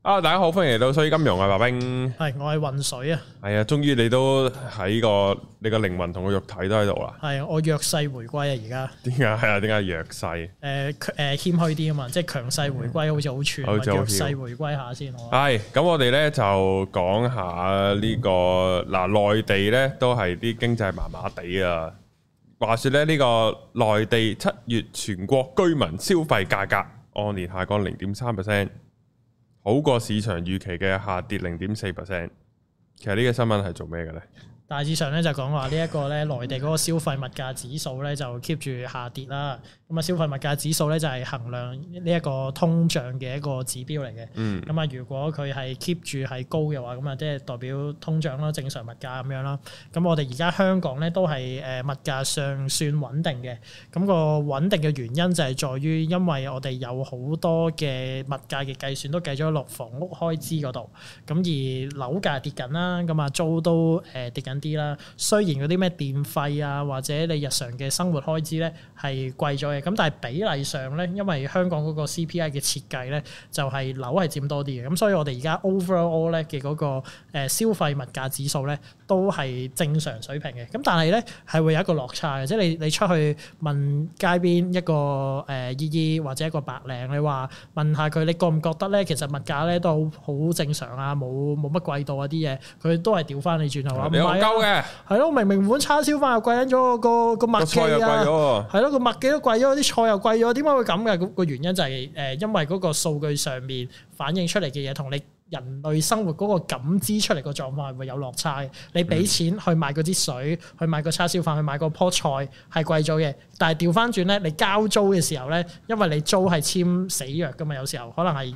大家好，歡迎嚟到水金融啊，白兵。 係，我係渾水啊。 係啊，終於你都喺你個靈魂同個肉體都喺度啦。係啊，我弱勢回歸啊，而家。點解係啊？點解弱勢？ 謙虛啲啊嘛，即係強勢回歸好似好串，弱勢回歸下先。 係，咁我哋咧就講下呢個內地咧都係啲經濟麻麻地啊。話說咧呢個內地7月全國居民消費價格按年下降0.3%。好過市場預期嘅下跌0.4%。其實呢個新聞係做咩嘅呢？ 大致上咧就講話呢一個咧內地嗰個消費物價指數咧就 keep 住下跌啦。咁啊消費物價指數咧就係衡量呢一個通脹嘅一個指標嚟嘅。咁啊如果佢係 keep 住係高嘅話，咁啊即係代表通脹啦，正常物價咁樣啦。咁我哋而家香港咧都係物價尚算穩定嘅。咁個穩定嘅原因就係在於因為我哋有好多嘅物價嘅計算都計咗落房屋開支嗰度。咁而樓價跌緊啦，咁啊租都跌緊啲啦。雖然嗰啲咩電費啊或者你日常嘅生活開支咧係貴咗嘅，咁但係比例上咧，因為香港嗰個 CPI 嘅設計咧就係樓係佔多啲嘅，咁所以我哋而家 overall 咧嘅嗰個消費物價指數咧都係正常水平嘅。咁但係咧係會有一個落差嘅，即係你出去問街邊一個姨姨或者一個白領，你話問下佢，你覺唔覺得咧其實物價咧都好正常啊，冇乜貴到啊啲嘢，佢都係調翻你轉頭話唔係嘅。係咯，明碗叉燒飯又貴緊咗，個麥記啊，係咯，個麥記都貴咗，啲菜又貴咗，點解會咁嘅？個原因就係因為嗰個數據上面反映出嚟嘅嘢同你人類生活嗰個感知出嚟個狀況係會有落差嘅。你俾錢去買嗰支水，去買個叉燒飯，去買個棵菜係貴咗嘅。但係調翻轉咧，你交租嘅時候咧，因為你租係簽死約噶嘛，有時候可能係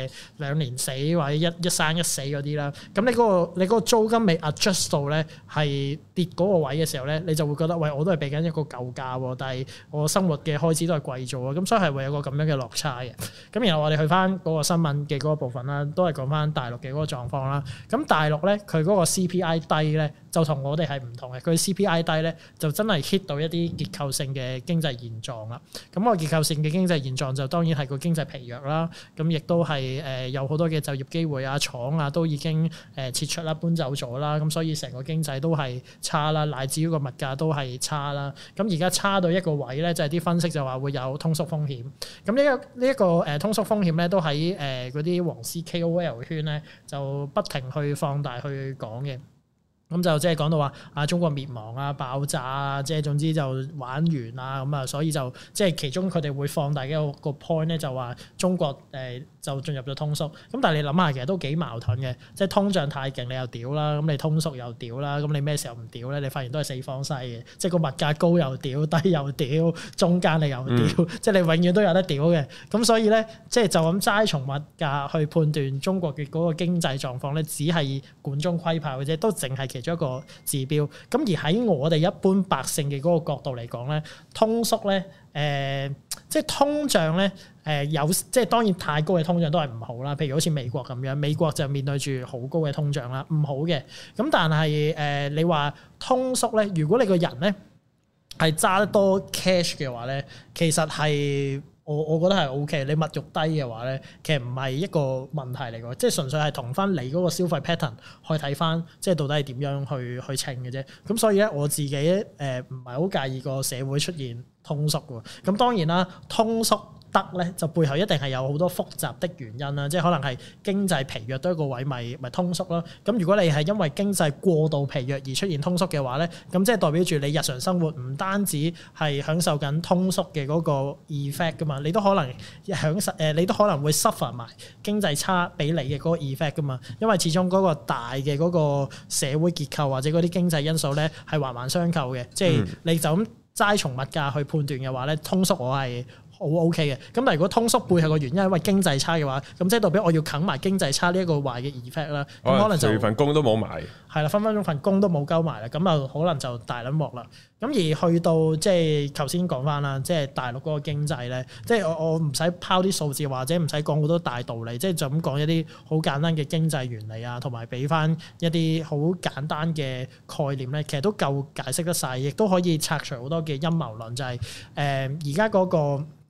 2年死或者一生一死嗰啲啦。咁你嗰個租金未 adjust 到咧，係跌嗰個位嘅時候咧，你就會覺得喂，我都係俾緊一個舊價喎，但係我生活嘅開支都係貴咗啊。咁所以係會有個咁樣嘅落差嘅。咁然後我哋去翻嗰個新聞嘅嗰個部分啦，都係講翻大陸嘅嗰個狀況啦。咁大陸咧，佢嗰個 CPI 低咧，就同我哋係唔同嘅。佢 CPI 低咧，就真係 hit 到一啲結構性嘅經濟現狀啦。咁個結構性嘅經濟現狀就當然係個經濟疲弱啦。咁亦都係有好多嘅就業機會啊、廠啊都已經撤出啦、搬走咗啦。咁所以成個經濟都係差啦，乃至於個物價都係差啦。咁而家差到一個位咧，就係啲分析就話會有通縮風險。咁呢一個通縮風險咧，都喺嗰啲黃絲 KOL 圈咧就不停去放大去講嘅。咁就即係講到話中國滅亡啊、爆炸啊，即係總之就玩完啊咁啊，所以就即係其中佢哋會放大嘅個 point 咧，就話中國就進入咗通縮。咁但係你諗下，其實都幾矛盾嘅，即係通脹太勁你又屌啦，咁你通縮又屌啦，咁你咩時候唔屌咧？你發現都係四方西嘅，即係個物價高又屌，低又屌，中間你又屌，即係你永遠都有得屌嘅。咁所以咧，即係就咁齋從物價去判斷中國嘅嗰個經濟狀況咧，只係管中窺豹嘅啫，都淨係其中一個指標。咁而喺我哋一般百姓嘅嗰個角度嚟講咧，通縮咧，即係通脹咧，即係當然太高嘅通脹都係唔好啦。譬如好似美國咁樣，美國就面對住好高嘅通脹啦，唔好嘅。咁但係你話通縮咧，如果你個人咧係揸得多 cash 嘅話咧，其實係我覺得係 OK。你物欲低嘅話咧，其實唔係一個問題嚟嘅，即係純粹係同翻你嗰個消費 pattern 去睇翻，即係到底係點樣去稱嘅啫。咁所以咧，我自己唔係好介意個社會出現通縮嘅。咁當然啦，通縮得咧就背後一定係有好多複雜的原因啦，即係可能係經濟疲弱多一個位咪通縮咯。咁如果你係因為經濟過度疲弱而出現通縮嘅話咧，咁即係代表住你日常生活唔單止係享受緊通縮嘅嗰個 effect 噶嘛，你都可能你都可能會 suffer 埋經濟差俾你嘅嗰個 effect 噶嘛，因為始終嗰個大嘅嗰個社會結構或者嗰啲經濟因素咧係環環相扣嘅，即係你就咁齋從物價去判斷嘅話咧，通縮我係好 OK 嘅。咁但係如果通縮背後個原因係因為經濟差嘅話，咁即係代表我要啃埋經濟差呢一個壞嘅 effect 啦。咁可能就份工都冇埋， 係啦，分分鐘份工都冇鳩埋啦。咁啊可能就大撚鑊啦。咁而去到即係頭先講翻啦，即係大陸嗰個經濟咧，即係我唔使拋啲數字或者唔使講好多大道理，即係就咁講一啲好簡單嘅經濟原理啊，同埋俾翻一啲好簡單嘅概念咧，其實都夠解釋得晒，亦都可以拆除好多嘅陰謀論，就係而家嗰個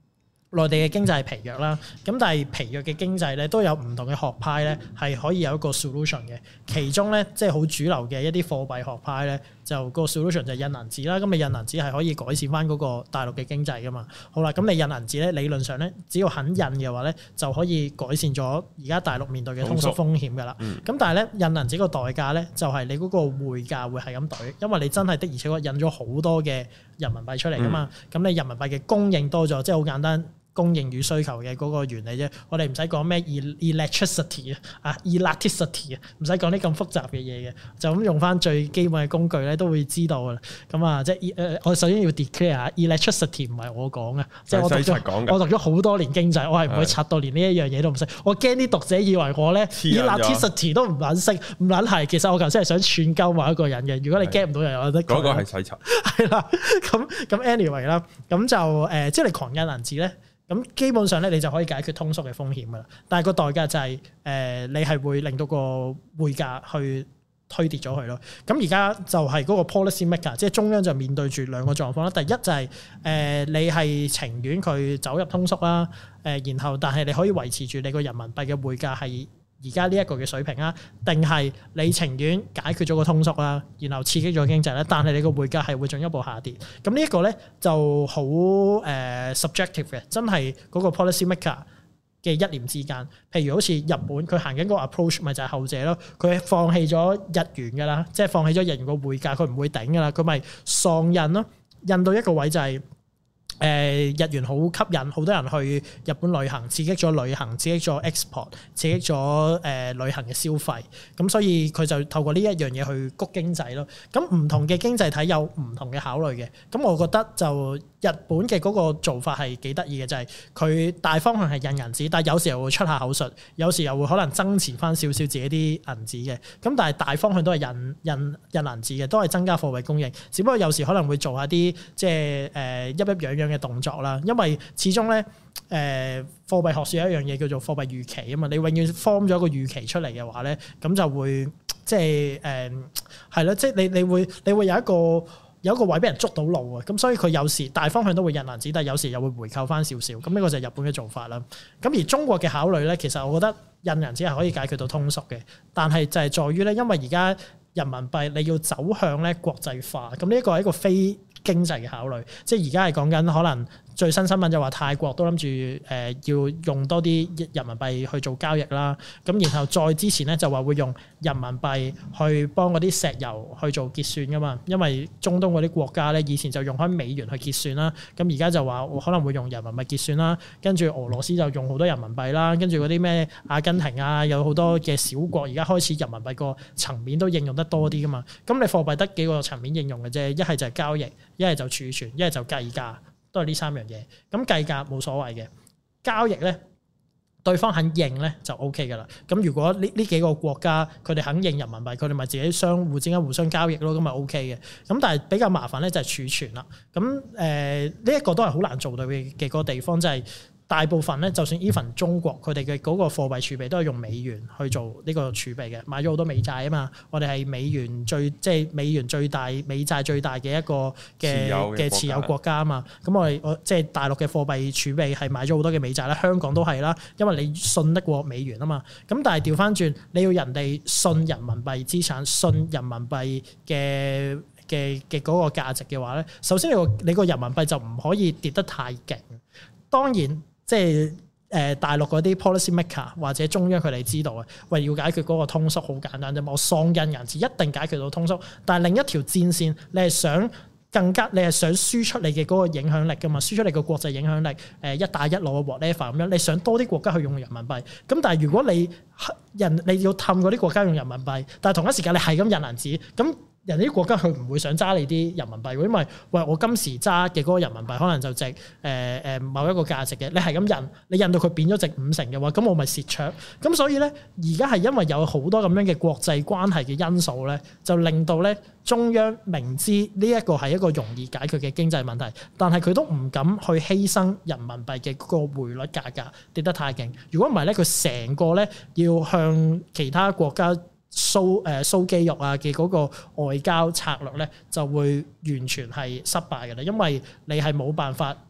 內地嘅經濟係疲弱啦，咁但係疲弱嘅經濟咧都有唔同嘅學派咧係可以有一個 solution 嘅，其中咧即係好主流嘅一啲貨幣學派咧就個 solution 就係印銀紙啦，咁你印銀紙係可以改善翻嗰個大陸嘅經濟噶嘛。好啦，咁你印銀紙咧理論上咧只要肯印嘅話咧就可以改善咗而家大陸面對嘅通縮風險噶啦。咁但係咧印銀紙個代價咧就係你嗰個匯價會係咁懟，因為你真係的而且確印咗好多嘅人民幣出嚟噶嘛，咁你人民幣嘅供應多咗，即係好簡單。供應與需求嘅嗰個原理啫，我哋唔使講咩 electricity 啊 elasticity 啊，唔使講啲咁複雜嘅嘢嘅，就咁用翻最基本嘅工具咧都會知道噶啦。咁啊，即係我首先要 declare 下 electricity 唔係我講嘅，即係我讀咗好多年經濟，我係唔會拆到連呢一樣嘢都唔識。我驚啲讀者以為我咧 elasticity 都唔撚識，唔撚係。其實我頭先係想串鳩某一個人嘅。如果你 get 唔到，又有得講。嗰個係洗塵。係啦，咁 anyway 啦，咁就即係你狂印銀紙咧。咁基本上咧，你就可以解決通縮嘅風險噶啦。但係個代價就係你係會令到個匯價去推跌咗佢咯。咁而家就係嗰個 policy maker，即係中央就面對住兩個狀況啦。第一就係你係情願佢走入通縮啦，然後但係你可以維持住你個人民幣嘅匯價係而家呢一個嘅水平啊，定係你情願解決咗個通縮啦，然後刺激咗經濟咧，但係你個匯價係會進一步下跌。咁呢一個咧就好subjective 嘅，真係嗰個 policy maker 嘅一念之間。譬如好似日本，佢行緊嗰個 approach 咪就係後者咯，佢放棄咗日元噶啦，即係放棄咗日元個匯價，佢唔會頂噶啦，佢咪喪印咯，印到一個位就係。日元好吸引，好多人去日本旅行，刺激咗旅行，刺激咗 export， 刺激咗旅行嘅消費。咁所以佢就透過呢一樣嘢去谷經濟咯。咁唔同嘅經濟體有唔同嘅考慮嘅。咁我覺得就日本嘅嗰個做法係幾得意嘅，就係佢大方向係印銀紙，但係有時候會出下口術，有時又會可能增持翻少少自己啲銀紙嘅。咁但係大方向都係印銀紙嘅，都係增加貨幣供應。只不過有時可能會做下啲即係一樣樣嘅動作啦，因為始終咧貨幣學說有一樣嘢叫做貨幣預期啊嘛，你永遠 form 咗個預期出嚟嘅話咧，咁就會即係係咯，即係你會有一個位俾人捉到路啊，咁所以佢有時大方向都會印銀紙，但係有時又會回購翻少少，咁呢個就係日本嘅做法啦。咁而中國嘅考慮咧，其實我覺得印銀紙係可以解決到通縮嘅，但係就係在於咧，因為而家人民幣你要走向咧國際化，咁呢一個係一個非經濟嘅考慮，即係而家係講緊可能最新新聞就話泰國都諗住要用多啲人民幣去做交易啦，咁然後再之前咧就話會用人民幣去幫嗰啲石油去做結算噶嘛，因為中東嗰啲國家咧以前就用開美元去結算啦，咁而家就話可能會用人民幣結算啦，跟住俄羅斯就用好多人民幣啦，跟住嗰啲咩阿根廷啊有好多嘅小國而家開始人民幣個層面都應用得多啲噶嘛，咁你貨幣得幾個層面應用嘅啫，一係就係交易，一係就儲存，一係就計價，都係呢三樣嘢。咁計價冇所謂嘅，交易咧對方肯認咧就 OK 噶啦。咁如果呢幾個國家佢哋肯認人民幣，佢哋咪自己相互之間互相交易咯，咁咪 OK 嘅。咁但係比較麻煩咧就係儲存啦。咁呢一個都係好難做到嘅個地方，就係大部分咧，就算 even 中國佢哋嘅嗰個貨幣儲備都係用美元去做呢個儲備嘅，買咗好多美債啊嘛。我哋係美元即係美元最大、美債最大嘅一個嘅持有國家啊嘛。咁我即係大陸嘅貨幣儲備係買咗好多嘅美債啦，香港都係啦，因為你信得過美元啊嘛。咁但係調翻轉，你要人哋信人民幣資產、信人民幣嘅嗰個價值嘅話咧，首先你個人民幣就唔可以跌得太勁。當然。即係大陸嗰啲 policy maker 或者中央佢哋知道啊，喂，要解決嗰個通縮好簡單啫嘛，我喪印銀紙一定解決到通縮。但係另一條戰線，你係想輸出你嘅嗰個影響力噶嘛，輸出你個國際影響力，一帶一路嘅 whatever 咁樣，你想多啲國家去用人民幣。咁但係如果你要氹嗰啲國家用人民幣，但係同一時間你係咁印銀紙，咁人哋啲國家佢唔會想揸你啲人民幣，因為喂我今時揸嘅嗰個人民幣可能就值某一個價值嘅，你係咁印，你印到佢變咗值50嘅話，咁我咪蝕卓。咁所以咧，而家係因為有好多咁樣嘅國際關係嘅因素咧，就令到咧中央明知呢一個係一個容易解決嘅經濟問題，但係佢都唔敢去犧牲人民幣嘅嗰個匯率價格跌得太勁。如果唔係咧，佢成個咧要向其他國家show肌肉啊嘅嗰個外交策略咧，就會完全係失敗嘅啦，因為你係冇辦法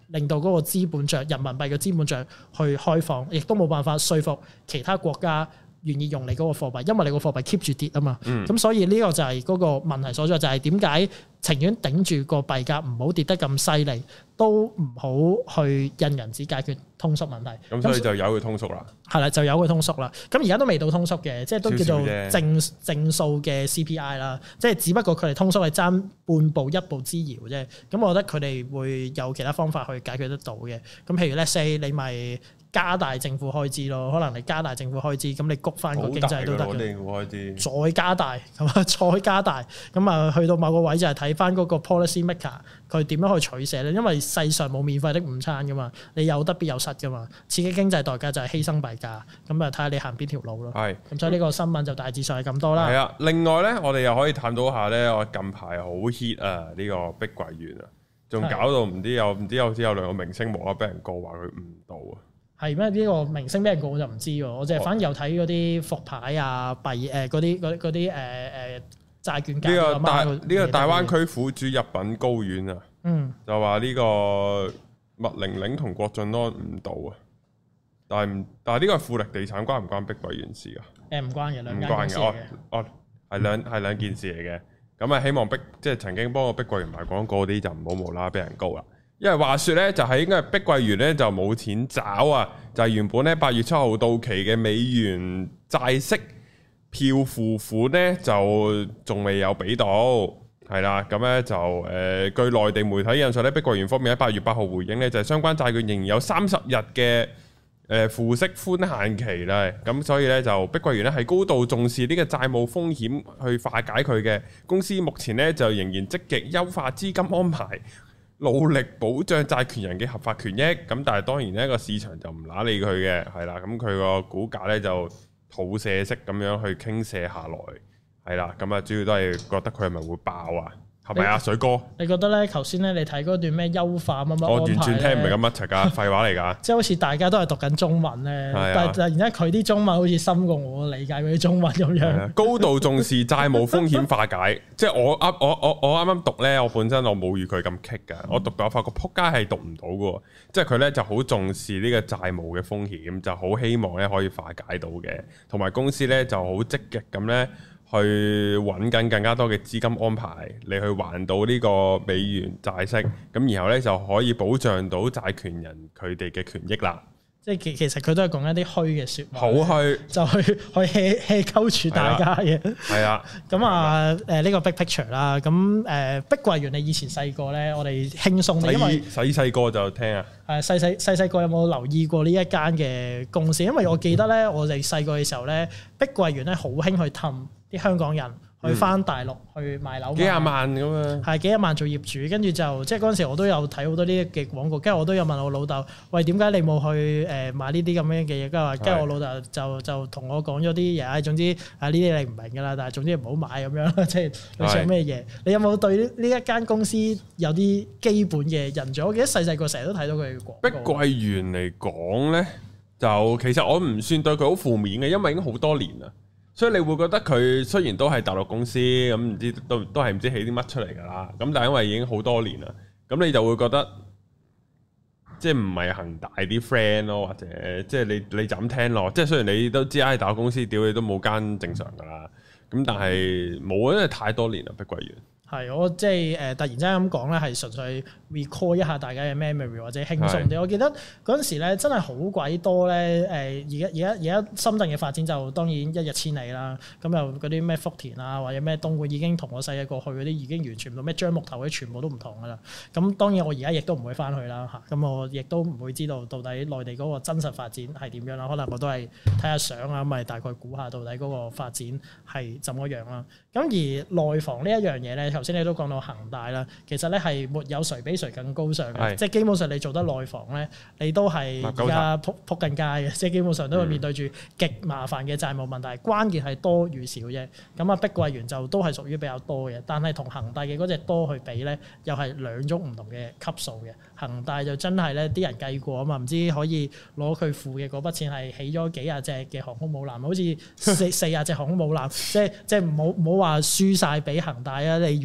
令到嗰個資本帳人民幣嘅資本帳去開放，亦都冇辦法說服其他國家願意用你嗰個貨幣，因為你個貨幣 keep 住跌啊嘛。咁所以呢個就係嗰個問題所在，就係點解情願頂住個幣價唔好跌得咁犀利，都唔好去印銀紙解決通縮問題。 咁所以就由佢通縮啦。係啦，就由佢通縮啦。咁而家都未到通縮嘅，即係都叫做正數嘅 CPI 啦。即係只不過佢哋通縮係爭半步一步之遙啫。咁我覺得佢哋會有其他方法去解決得到嘅。咁譬如 let's say 你咪加大政府開支咯，可能你加大政府開支，咁你谷翻個經濟都得嘅。再加大，咁啊再加大，咁啊去到某個位就係睇翻嗰個 policy maker 佢點樣去取捨咧？因為世上冇免費的午餐噶嘛，你有得必有失噶嘛。刺激經濟代價就係犧牲幣價，咁啊睇下你行邊條路咯。係，咁所以呢個新聞就大致上係咁多啦。係啊， 另外咧，我哋又可以探討下咧，我近排好 hit 啊呢個碧桂園啊，仲搞到唔知有兩個明星無啦啦俾人告話佢誤導啊。 係咩？呢個明星俾人告我就唔知喎，我淨係反而有睇嗰啲復牌啊、幣嗰啲債券價呢個大灣區苦主入稟高院啊，就話呢個麥玲玲同郭晉安誤導啊，但係呢個係富力地產關唔關碧桂園事噶？唔關嘅，兩間公司嘅。係兩件事嚟嘅。咁啊，希望即係曾經幫過碧桂園賣廣告嗰啲就唔好無啦啦俾人告啦。因為話說咧，就係應該係碧桂園咧就冇錢找啊，就係原本咧8月7號到期嘅美元債息票付款咧就仲未有俾到，係啦，咁咧就據內地媒體引述咧，碧桂園方面喺8月8號回應咧，就係相關債券仍然有30日嘅付息寬限期啦，咁所以咧就碧桂園咧係高度重視呢個債務風險去化解佢嘅，公司目前咧就仍然積極優化資金安排，努力保障債權人嘅合法權益，咁但係當然呢個市場就唔揦理佢嘅，係啦，咁佢個股價咧就吐瀉式咁樣去傾瀉下來，係啦，咁啊主要都係覺得佢係咪會爆啊？係咪啊，水哥？你覺得咧？頭先咧，你睇嗰段咩優化乜乜安排？我完全聽唔明咁乜柒噶，廢話嚟噶。即係好似大家都係讀緊中文咧，但係突然間佢啲中文好似深過我理解嗰啲中文咁樣。高度重視債務風險化解，即係我啱啱讀咧，我本身我冇預佢咁棘噶，我讀到我發覺撲街係讀唔到噶，即係佢咧就好重視呢個債務嘅風險，就好希望咧可以化解到嘅，同埋公司咧就好積極咁咧。去揾緊更加多嘅資金安排，你去還到呢個美元債息，咁然後咧就可以保障到債權人佢哋嘅權益啦。即係其實佢都係講一啲虛嘅説話，好虛就去 hea 鳩住大家嘅。係啊，咁啊呢個 big picture 啦，咁碧桂園你以前細個咧，我哋輕鬆啲，因為細個就聽啊。係細個有冇留意過呢一間嘅公司？因為我記得咧，我哋細個嘅時候咧，碧桂園咧好興去氹啲香港人去翻大陸去買樓，幾廿萬咁啊！係幾廿萬做業主，跟住就即係嗰陣時我都有睇好多呢啲嘅廣告，跟住我都有問我老豆：喂，點解你冇去買呢啲咁樣嘅嘢？跟住我老豆就同我講咗啲嘢，總之呢啲你唔明㗎啦，但係總之唔好買咁樣，即係你想咩嘢？你有冇對呢一間公司有啲基本嘅印象？我記得細個成日都睇到佢嘅廣告。碧桂園嚟講咧，就其實我唔算對佢好負面嘅，因為已經好多年啦。所以你會覺得佢雖然都係大陸公司，咁唔知都係唔知起啲乜出嚟㗎啦。咁但係因為已經好多年啦，咁你就會覺得即係唔係恒大啲 friend 咯，或者即係你就咁聽落。即係雖然你都知大陸公司屌你都冇間正常㗎啦，咁但係冇，因為太多年啦，碧桂園。係，我即係突然之間咁講咧，係純粹 recall 一下大家嘅 memory 或者輕鬆啲。我記得嗰陣時咧，真係好鬼多咧。而家深圳嘅發展就當然一日千里啦。咁又嗰啲咩福田啊，或者咩東莞已經同我細個過去嗰啲已經完全唔同，咩樟木頭嗰啲全部都唔同噶啦。咁當然我而家亦都唔會翻去啦嚇。咁我亦都唔會知道到底內地嗰個真實發展係點樣啦。可能我都係睇下相啊，咁咪大概估下到底嗰個發展係怎麼樣啦。咁而內房呢一樣嘢咧，頭先你都講到恒大啦，其實咧係沒有誰比誰更高尚嘅，即係基本上你做得內房咧，你都係而家撲緊街嘅，即係基本上都會面對住極麻煩嘅債務問題，關鍵係多與少啫。咁啊，碧桂園就都係屬於比較多嘅，但係同恒大嘅嗰隻多去比咧，又係兩種唔同嘅級數嘅。恒大就真係咧，啲人計過啊嘛，唔知可以攞佢付嘅嗰筆錢係起咗幾廿隻嘅航空母艦，好似四廿隻航空母艦，即係唔好話輸晒俾恒大啊！你如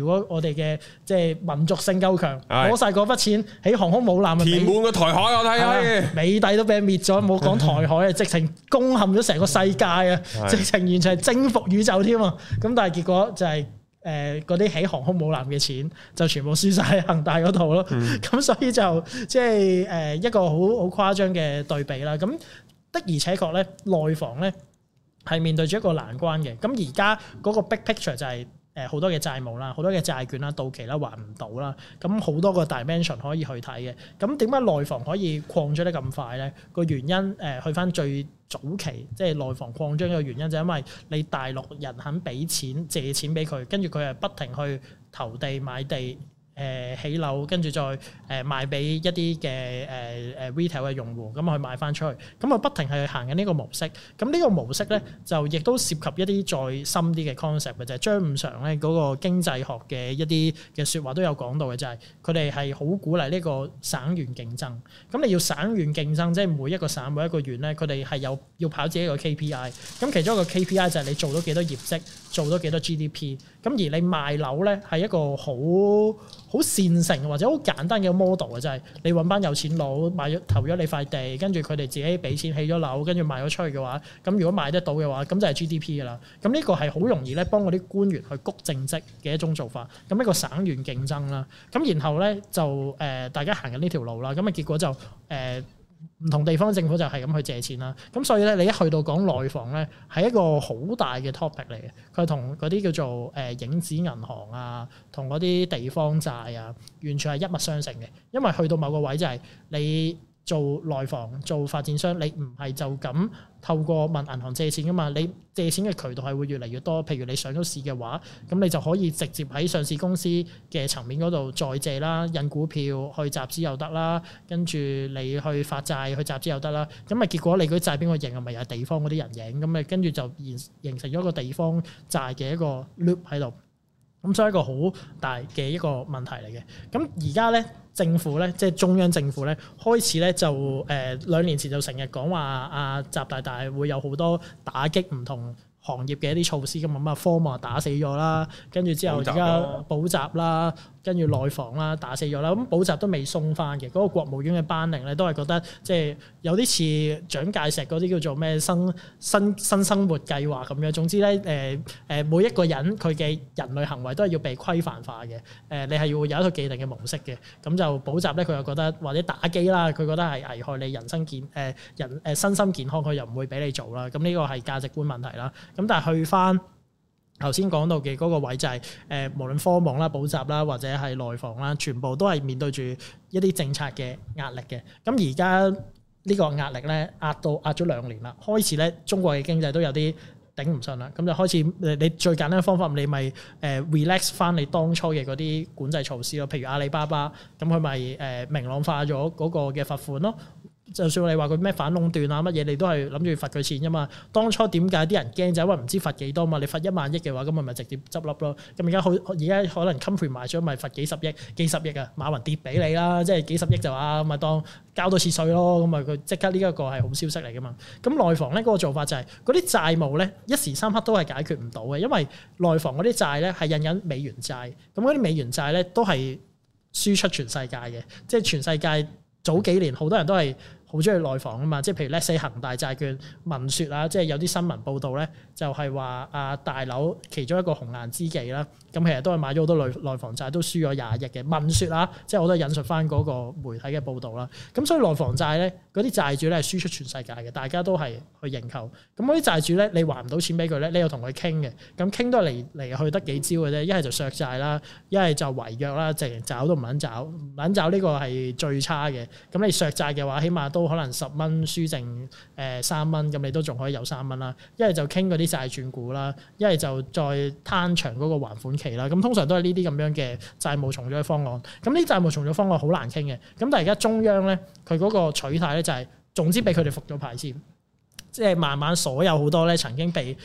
如果我哋嘅即係民族性夠強，攞晒嗰筆錢起航空母艦， 填滿個台海我睇下， 美帝都俾人滅咗，冇講台海啊，直情攻陷咗成個世界啊，直情完全係征服宇宙添啊！咁但係結果就係嗰啲起航空母艦嘅錢就全部輸晒喺恒大嗰度咯。咁所以就即係一個好誇張嘅對比啦。咁的而且確咧，內房咧係面對住一個難關嘅。咁而家嗰個 big picture 就係好多嘅債務啦，好多嘅債券啦到期啦還唔到啦。咁好多個 dimension 可以去睇嘅。咁點解內房可以擴張得咁快咧？個原因去翻最早期即係內房擴張嘅原因就係因為你大陸人肯俾錢借錢俾佢，跟住佢係不停去投地買地。起樓，跟住再賣俾一啲嘅retail 嘅用戶，咁去賣翻出去，咁啊不停係行緊呢個模式。咁呢個模式咧就亦都涉及一啲再深啲嘅 concept 嘅，就係張五常咧嗰個經濟學嘅一啲嘅説話都有講到嘅，就係佢哋係好鼓勵呢個省縣競爭。咁你要省縣競爭，即係每一個省每一個縣咧，佢哋係要跑自己一個 KPI。咁其中一個 KPI 就係你做到幾多業績，做到幾多 GDP。咁而你賣樓咧係一個好線性或者好簡單嘅 model 嘅，就係你揾班有錢佬投咗你塊地，跟住佢哋自己俾錢起咗樓，跟住賣咗出去嘅話，咁如果賣得到嘅話，咁就係 GDP 噶啦。咁呢個係好容易咧幫嗰啲官員去谷政績嘅一種做法。咁一個省縣競爭啦，咁然後咧就大家行緊呢條路啦，咁啊結果就唔同地方政府就係咁去借錢啦，咁所以咧你一去到講內房咧，係一個好大嘅 topic 嚟嘅，佢同嗰啲叫做影子銀行啊，同嗰啲地方債啊，完全係一脈相承嘅，因為去到某個位就係你做內房做發展商，你唔係就咁透過問銀行借錢噶嘛，你借錢嘅渠道係會越嚟越多。譬如你上咗市嘅話，咁你就可以直接喺上市公司嘅層面嗰度再借啦，印股票去集資又得啦，跟住你去發債去集資又得啦。咁啊結果你嗰啲債邊個贏啊？咪又係地方嗰啲人贏，咁啊跟住就形成咗一個地方債嘅一個 loop 喺度。咁所以一個好大嘅一個問題嚟嘅。咁而家咧政府咧，即係中央政府咧，開始咧就2年前就成日講話阿習大大會有好多打擊唔同行業嘅一啲措施，咁啊科網打死咗啦，跟住之後而家補習啦，跟住內房啦打死咗啦，咁補習都未鬆翻嘅，嗰個國務院嘅班令咧都係覺得即係有啲似蔣介石嗰啲叫做咩新生活計劃咁樣。總之咧每一個人佢嘅人類行為都係要被規範化嘅，你係要有一個既定嘅模式嘅。咁就補習咧，佢又覺得或者打機啦，佢覺得係危害你人身身心健康，佢又唔會俾你做啦。咁呢個係價值觀問題啦。咁但係去翻頭先講到嘅嗰個位就係無論科網啦、補習啦，或者係內房啦，全部都係面對住一啲政策嘅壓力嘅。咁而家呢個壓力咧壓咗2年啦，開始咧中國嘅經濟都有啲頂唔順啦，咁就開始你最簡單嘅方法，你咪relax 翻你當初嘅嗰啲管制措施咯。譬如阿里巴巴，咁佢咪明朗化咗嗰個嘅罰款咯。就算你話佢咩反壟斷啊乜嘢，你都係諗住罰佢錢啫嘛。當初點解啲人驚就係因為唔知罰幾多嘛？你罰1萬億嘅話，咁咪直接執笠咯。咁而家可能 compromise 咗，咪罰幾十億啊！馬雲跌俾你啦，即係幾十億就話咪當交多次稅咯。咁咪佢即刻呢一個係好消息嚟噶嘛。咁內房咧嗰個做法就係嗰啲債務咧一時三刻都係解決唔到嘅，因為內房嗰啲債咧係印緊美元債，咁嗰啲美元債咧都係輸出全世界嘅，即係全世界早幾年好多人都係好中意內房啊嘛，即係譬如 let's say 恒大債券聞說啊，即係有啲新聞報道咧，就係話啊大樓其中一個紅顏知己啦，咁其實都係買咗好多內房債，都輸咗20億嘅聞說啊，即係我都引述翻嗰個媒體嘅報道啦。咁所以內房債咧，嗰啲債主咧係輸出全世界嘅，大家都係去認購。咁嗰啲債主咧，你還唔到錢俾佢咧，你又同佢傾嘅，咁傾都係嚟去得幾招嘅啫，一係就削債啦，一係就違約啦，直情找都唔肯找，唔肯找呢個係最差嘅。咁你削債嘅話，起碼都可能10蚊輸剩3蚊，咁你都仲可以有3蚊啦。一係就傾嗰啲債轉股啦，一係就再攤長嗰個還款期啦。咁通常都係呢啲咁樣嘅債務重組嘅方案。咁呢啲債務重組方案好難傾嘅。咁但係而家中央咧，佢嗰個取態咧就係總之俾佢哋復咗牌先，即係慢慢所有好多咧曾經被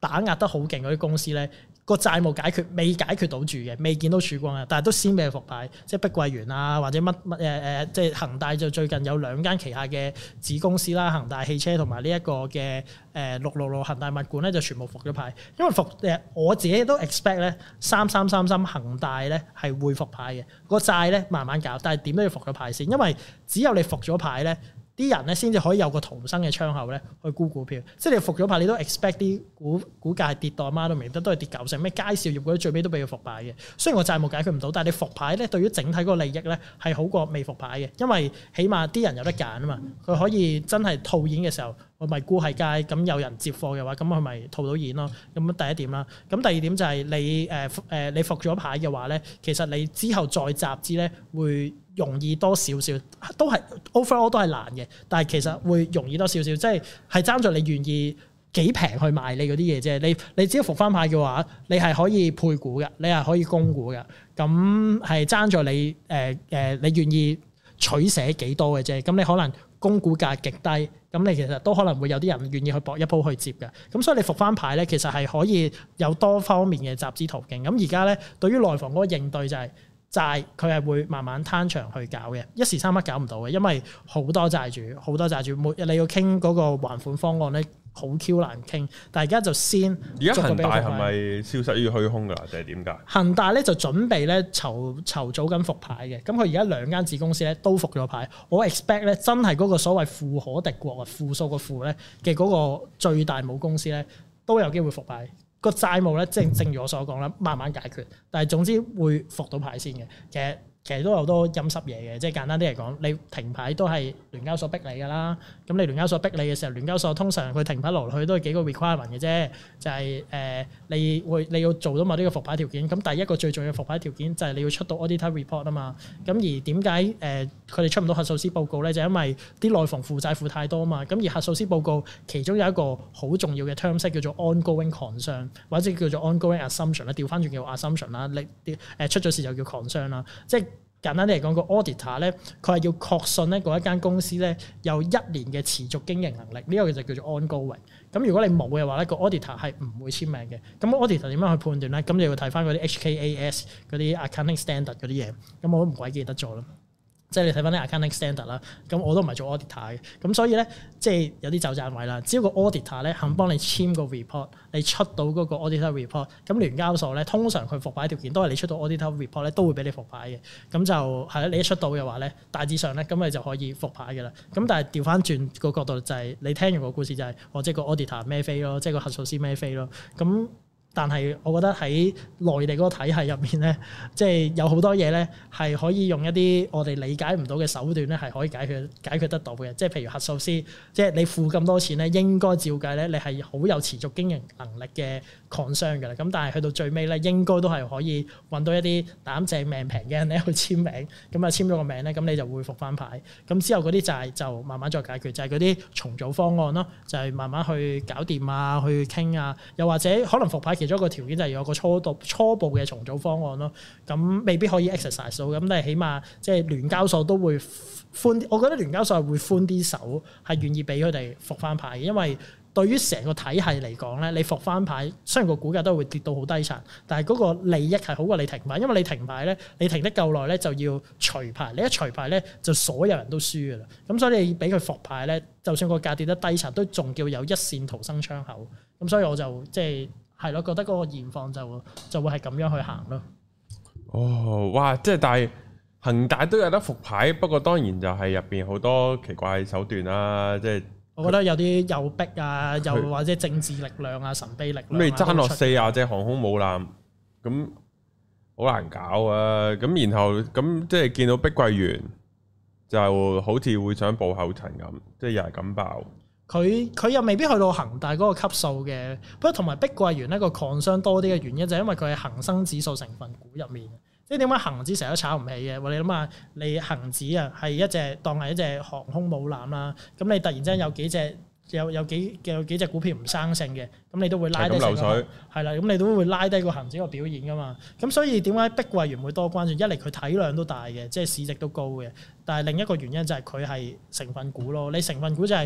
打壓得好勁嗰啲公司咧，個債務未解決到住嘅，未見到曙光嘅，但係都先俾佢復牌，即係碧桂園啊，或者即係恒大就最近有2間旗下嘅子公司啦，恒大汽車同埋呢一個嘅666恒大物管咧就全部復咗牌，因為我自己都 expect 咧3333恒大咧係會復牌嘅，個債咧慢慢搞，但係點都要復咗牌先，因為只有你復咗牌咧。啲人咧先至可以有個逃生嘅窗口咧去沽股票，即係你復咗牌，你都 expect 啲股價係跌到阿媽都唔認得，都係跌90%。咩佳兆業嗰啲最尾都俾佢復牌嘅，雖然個債務解決唔到，但係你復牌咧對於整體嗰個利益咧係好過未復牌嘅，因為起碼啲人有得揀啊嘛，佢可以真係套現嘅時候，我咪沽喺街，咁有人接貨嘅話，咁佢咪套到現咯。咁第一點啦，咁第二點就係你復咗牌嘅話咧，其實你之後再集資咧會容易多少少，都係 overall 都係難嘅，但係其實會容易多少少，即係爭在你願意幾平去賣你嗰啲嘢啫。你只要復翻牌嘅話，你係可以配股嘅，你係可以供股嘅，咁係爭在你你願意取捨幾多嘅啫。咁你可能供股價極低，咁你其實都可能會有啲人願意去搏一鋪去接嘅。咁所以你復翻牌咧，其實係可以有多方面嘅集資途徑。咁而家咧對於內房嗰個應對就係債佢係會慢慢攤長去搞嘅，一時三刻搞唔到嘅，因為好多債主，你要傾嗰個還款方案咧，好 Q 難傾。但係而家就先， 而家恒大係咪消失於虛空㗎？定係點㗎？恒大咧就準備咧籌組緊復牌嘅，咁佢而家2間子公司咧都復咗牌。我 expect 咧真係嗰個所謂富可敵國啊，負數個負咧嘅嗰個最大母公司咧都有機會復牌。個債務咧，正如我所講啦，慢慢解決，但係總之會復到牌先嘅。其實都有好多陰濕嘢嘅，即係簡單啲嚟講，你停牌都係聯交所逼你㗎啦。咁你聯交所逼你嘅時候，聯交所通常佢停牌落去都係幾個 requirement 嘅啫，就係你要做到某啲嘅復牌條件。咁第一個最重要嘅復牌條件就係你要出到 auditor report 啊嘛。咁而點解佢哋出唔到核數師報告咧？就因為啲內房負債負太多啊嘛。咁而核數師報告其中有一個好重要嘅 term 叫做 ongoing concern 或者叫做 ongoing assumption 啦，調翻轉叫 assumption 啦。你出咗事就叫 concern 啦，即係。簡單啲嚟講，個 auditor 咧，佢係要確信咧嗰一間公司咧有1年嘅持續經營能力，呢個就叫做 ongoing。咁如果你冇嘅話咧，個 auditor 係唔會簽名嘅。咁 auditor 點樣去判斷咧？咁你要睇翻嗰啲 HKAS 嗰啲 accounting standard 嗰啲嘢。咁我都唔鬼記得咗咯。即係你睇翻啲 accounting standard 啦，咁我都唔係做 auditor 嘅，咁所以咧即係有啲走盞位啦。只要個 auditor 咧肯幫你簽個 report，你出到嗰個 auditor report，咁聯交所咧通常佢復牌條件都係你出到 auditor report 咧都會俾你復牌嘅。咁就係啦，你一出到嘅話咧，大致上咧咁你就可以復牌嘅啦。咁但係調翻轉個角度就係你聽完個故事就係即係個 auditor 孭飛咯，即係個核數師孭飛咯。咁但係我覺得喺內地嗰個體系入面咧，即係有好多嘢咧係可以用一啲我哋理解唔到嘅手段咧，係可以解決得到嘅。即係譬如核數師，即係你付咁多錢咧，應該照計咧，你係好有持續經營能力嘅 concern 㗎啦。咁但係去到最尾咧，應該都係可以揾到一啲膽正命平嘅人咧去簽名，咁啊簽咗個名咧，咁你就會復翻牌。咁之後嗰啲債就慢慢再解決，就係嗰啲重組方案咯，就係慢慢去搞掂啊，去傾啊，又或者可能復牌其中一個條件就係有個初步嘅重組方案咯，咁未必可以 exercise 到，咁但係起碼即係聯交所都會寬，我覺得聯交所係會寬啲手，係願意俾佢哋復翻牌嘅，因為對於成個體系嚟講咧，你復翻牌雖然個股價都會跌到好低層，但係嗰個利益係好過你停牌，因為你停牌咧，你停得夠耐咧就要除牌，你一除牌咧就所有人都輸㗎啦，咁所以你俾佢復牌咧，就算個價跌得低層，都仲叫有一線逃生窗口，咁所以我就即係。係咯，覺得嗰個現況就會係咁樣去行咯。 哦，哇！即係但係恒大都有得復牌，不過當然就係入邊好多奇怪手段啦。即係我覺得有啲又逼啊，又或者政治力量啊、神秘力量啊。咁你爭落40隻航空母艦，咁好難搞啊！咁然後咁即係見到碧桂園就好似會想步後塵咁，即係又係咁爆。 佢又未必去到恒大嗰個級數嘅，不過同埋碧桂園呢個 concern 多啲嘅原因就係因為佢係恒生指數成分股入面，即係點解恒指成日都炒唔起嘅？你諗下，你恒指啊係一隻當係一隻航空母艦啦，咁你突然之間有幾隻有幾隻股票唔生性嘅，咁你都會拉低成個係啦，咁你都會拉低個恒指個表現噶嘛。咁所以點解碧桂園會多關注？一嚟佢體量都大嘅，即係市值都高嘅，但係另一個原因就係佢係成分股咯。你成分股就係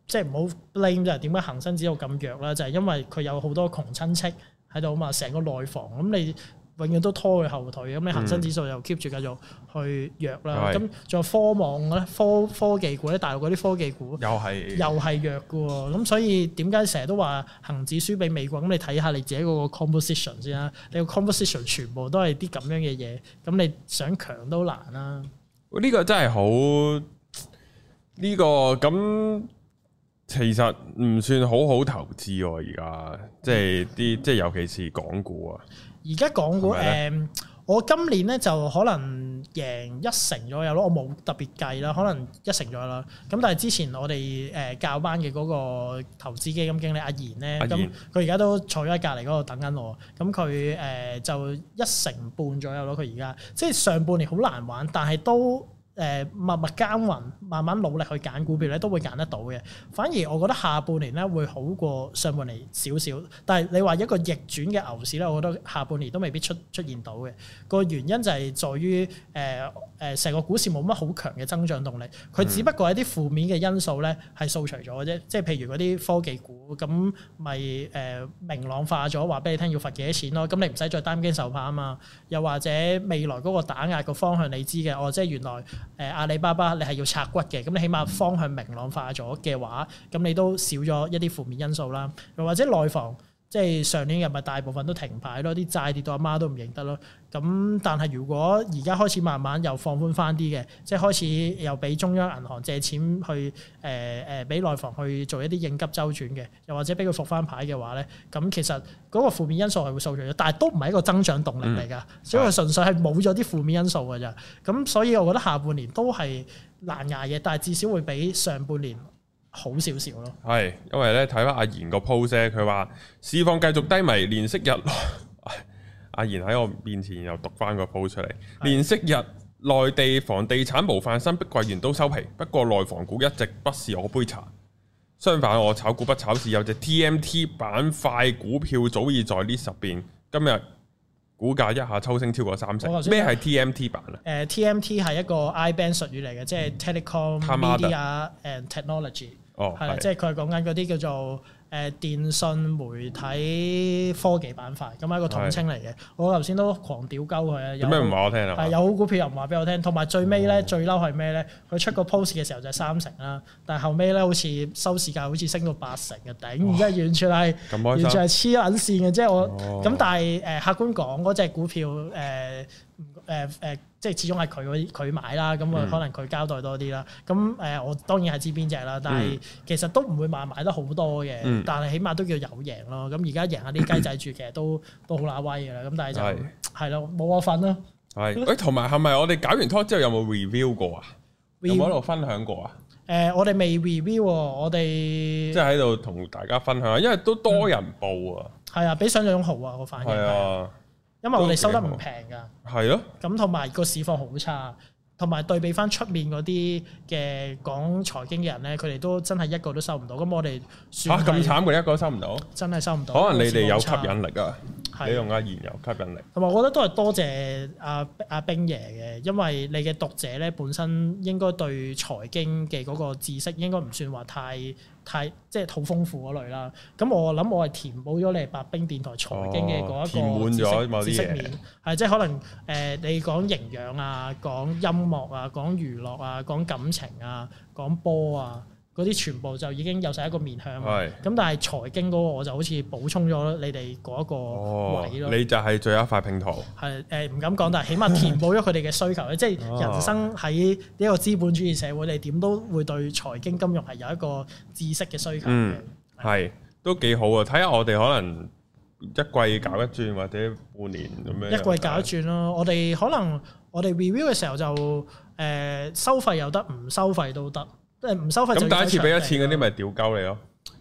即係唔好 blame 就係點解恒生指數咁弱啦？就係因為佢有好多窮親戚喺度啊嘛，成個內房咁你永遠都拖佢後腿，咁你恒生指數又 keep 住繼續去弱啦。咁仲有科網咧、科技股咧，大陸嗰啲科技股又係弱嘅喎。咁所以點解成日都話恒指輸俾美國？咁你睇下你自己嗰個 composition 先啦。你個 composition 全部都係啲咁樣嘅嘢，咁你想強都難啦。 呢個真係好呢個咁。其實唔算好好投資喎，而家即係尤其是港股啊。 而家港股我今年咧就可能贏1成左右咯，我冇特別計啦，可能1成左右啦。咁但係之前我哋教班嘅嗰個投資基金經理阿賢咧，咁佢而家都坐咗喺隔離嗰度等緊我。咁佢就1成半左右咯。佢而家即係上半年好難玩，但係都。默默耕耘，慢慢努力去揀股票咧，都會揀得到嘅。反而我覺得下半年咧會好過上半年少少。但係你話一個逆轉嘅牛市咧，我覺得下半年都未必出現到嘅。個原因就係在於成個股市冇乜好強嘅增長動力，佢只不過係啲負面嘅因素咧係掃除咗嘅啫。即係譬如嗰啲科技股咁，咪明朗化咗，話俾你聽要罰幾多錢咯。咁你唔使再擔驚受怕啊嘛。又或者未來嗰個打壓個方向你知嘅，即係原來。阿里巴巴你係要拆骨嘅，咁你起碼方向明朗化咗嘅話，咁你都少咗一啲負面因素啦。又或者內房，即係上年又咪大部分都停牌咯，啲債跌到阿媽都唔認得咯。咁但係如果而家開始慢慢又放寬翻啲嘅，即係開始又俾中央銀行借錢去俾內房去做一啲應急周轉嘅，又或者俾佢復翻牌嘅話咧，咁其實嗰個負面因素係會掃除咗，但係都唔係一個增長動力嚟㗎，所以佢純粹係冇咗啲負面因素㗎咋。咁所以我覺得下半年都係難捱嘅，但係至少會比上半年好少少咯。係， 因為咧睇翻阿賢個 post 咧，佢話市況繼續低迷，連息日。阿賢喺我面前又讀翻個 post 出嚟，連息日內地房地產模範生碧桂園都收皮，不過內房股一直不是我杯茶。相反，我炒股不炒市，有隻 TMT 板塊股票早已在 list 入邊，今日股價一下抽升超過30%。咩係 TMT 板啊 ？TMT 係一個 IBAN 術語嚟嘅，即係 Telecom Media and Technology。係啦，即係佢係講緊嗰啲叫做電信媒體科技板塊，咁係一個統稱嚟嘅。我頭先都狂屌鳩佢啊！ 有咩唔話我聽啊？ 係有好股票又唔話俾我聽，同埋最尾咧最嬲係咩咧？佢出個 post 嘅時候就係3成啦，但係後尾咧好似收市價好似升到8成嘅頂，真係完全係黐撚線嘅。即係我咁，但係客觀講嗰隻股票即係始終係佢買啦，咁可能佢交代多啲啦。咁我當然係知邊隻啦，但係其實都唔會買得好多嘅，但係起碼都叫有贏咯。咁而家贏下啲雞仔住，其實都好乸威嘅啦。咁但係就係咯，冇我份咯。 係，同埋係咪我哋搞完拖之後有冇 review 過啊？有冇喺度分享過啊？ 我哋未 review，我哋即係喺度同大家分享，因為都多人報啊。 係啊，比想像中好啊個反應。係啊。因為我哋收得唔平㗎，係咯，咁同埋個市況好差，同埋對比翻出面嗰啲嘅講財經嘅人咧，佢哋都真係一個都收唔到。咁我哋算咁慘，佢一個都收唔到， 真係收唔到。 可能你哋有吸引力啊，你用阿賢有吸引力。 同埋我覺得都係多謝阿冰爺嘅，因為你嘅讀者咧本身應該對財經嘅嗰個知識應該唔算話太即係好豐富嗰類啦。咁我諗我係填補咗你白兵電台財經嘅嗰一個知識面，係即係可能你講營養啊，講音樂啊，講娛樂啊，講感情啊，講波啊。嗰啲全部就已經有晒一個面向，咁但係財經嗰個我就好似補充咗你哋嗰一個位咯。 你就係最後一塊拼圖。 係唔敢講，但係起碼填補咗佢哋嘅需求。即係人生喺呢一個資本主義社會，你點都會對財經金融係有一個知識嘅需求嘅。 係都幾好啊！睇下我哋可能一季搞一轉，或者半年咁樣。一季搞一轉咯，我哋可能我哋 review 嘅時候就收費又得，唔收費都得。唔收費咁第一次俾咗錢嗰啲咪屌鳩你咯？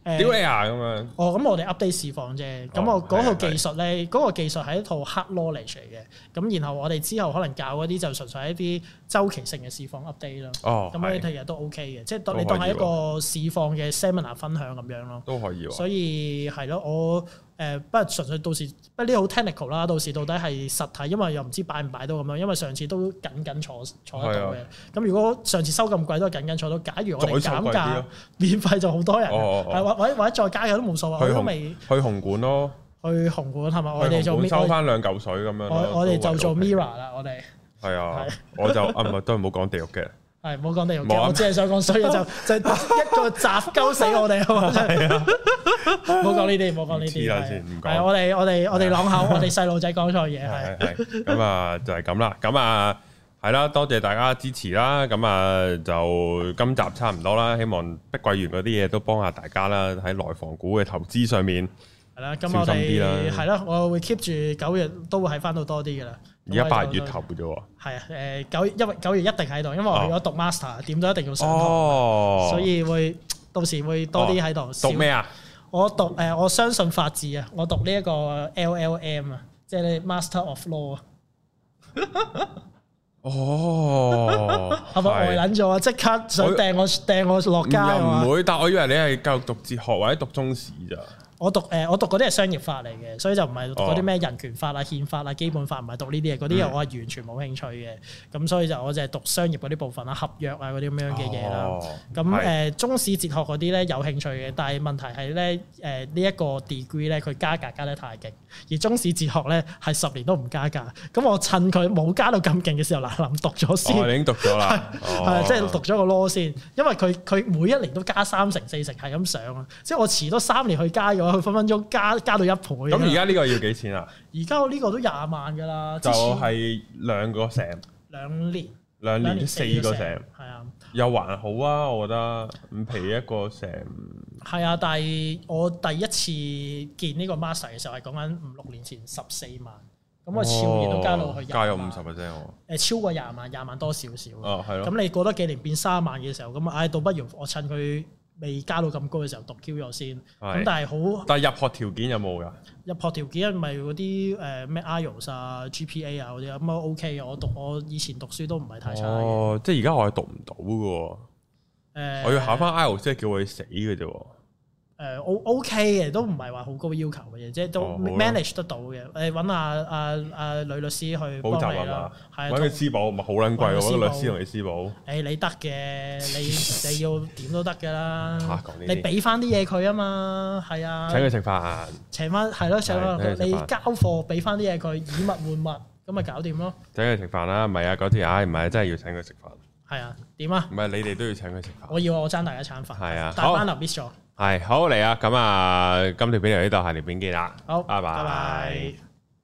屌你啊咁樣。 哦，咁我哋 update 市況啫。咁我嗰套技術咧，嗰個技術係一套 hard knowledge 嚟嘅。咁然後我哋之後可能教嗰啲就純粹係一啲周期性嘅市況 update 咯。哦，咁呢啲其實都 OK 嘅，即係你當係一個市況嘅 seminar 分享咁樣咯。都可以喎。所以係咯，我不過純粹到時不過呢啲好 technical 啦。到時到底係實體，因為又唔知擺唔擺到咁樣。因為上次都緊坐得到嘅。咁如果上次收咁貴都係緊坐到，假如我哋減價免費就好多人，或者再加嘅都冇所謂。去紅館咯，去紅館係咪？我哋做收翻2嚿水咁樣。我哋就做 Mirror 啦，我哋係啊，我就唔係都係唔好講地獄嘅，係唔好講地獄嘅，我只係想講衰嘅就一個砸鳩死我哋啊嘛，係啊，唔好講呢啲，唔好講呢啲，唔講。係我哋朗口，我哋細路仔講錯嘢係。咁啊就係咁啦，咁啊。係啦，多謝大家支持啦，咁啊就今集差唔多啦，希望碧桂園嗰啲嘢都幫下大家啦，喺內房股嘅投資上面。係啦，咁我哋係啦，我會 keep 住9月都會喺翻到多啲噶啦。而家8月頭嘅啫喎。係啊，因為9月一定喺度，因為我如果讀 master 點都一定要上堂，所以會到時會多啲喺度。讀咩啊？我讀我相信法治啊，我讀呢一個 LLM 啊，即係 Master of Law 啊。哦，係咪呆撚咗啊？即刻想掟我落街啊！唔會，但我以為你係教育讀哲學或者讀中史咋。我讀嗰啲係商業法嚟嘅，所以就唔係讀嗰啲咩人權法啊、憲法啊、基本法，唔係讀呢啲嘢。嗰啲嘢我係完全冇興趣嘅。咁所以我就係讀商業嗰啲部分啦、合約啊嗰啲咁樣嘅嘢啦。咁中史哲學嗰啲咧有興趣嘅，但係問題係咧呢一個 degree 咧佢加價加得太勁，而中史哲學咧係10年都唔加價。咁我趁佢冇加到咁勁嘅時候嗱讀咗先。我已經讀咗啦，係即係讀咗個 law 先，因為佢每一年都加3成4成係咁上啊，即係我遲多3年去加嘅話。佢分分鐘加到1倍。咁而家呢個要幾錢啊？而家我呢個都20萬㗎啦。就係2個成。2年4個成。係啊。又還好啊，我覺得5皮一個成。係啊，但係我第一次見呢個 master 嘅時候係講緊5-6年前14萬，咁我超年都加到去20萬。加咗50%喎。超過20萬多少少。哦，係咯。咁你過多幾年變3萬嘅時候，咁倒不如我趁佢未加到咁高嘅時候讀 Q 咗先，咁但係好。但係入學條件有冇㗎？入學條件咪嗰啲咩 IELTS 啊、GPA 啊嗰啲咁啊 OK 嘅。我以前讀書都唔係太差。哦，即係而家我係讀唔到嘅喎。我要考翻 IELTS 即係叫我去死嘅啫喎。OK 嘅，都唔係話好高要求嘅嘢，即係都 manage 得到嘅。揾阿女律師去補習啊嘛，揾佢私補咪好撚貴喎，揾個律師同你私補。你得嘅，你要點都得㗎啦。你俾翻啲嘢佢啊嘛，係啊。請佢食飯。請翻係咯，請翻你交貨，俾翻啲嘢佢，以物換物，咁咪搞掂咯。請佢食飯啦，唔係啊嗰條唔係真係要請佢食飯。係啊，點啊？唔係你哋都要請佢食飯。我爭大家一餐飯。係啊，大班留 miss 咗。係好嚟啊！咁啊，今條片嚟呢度，下條片見啦。好，拜拜。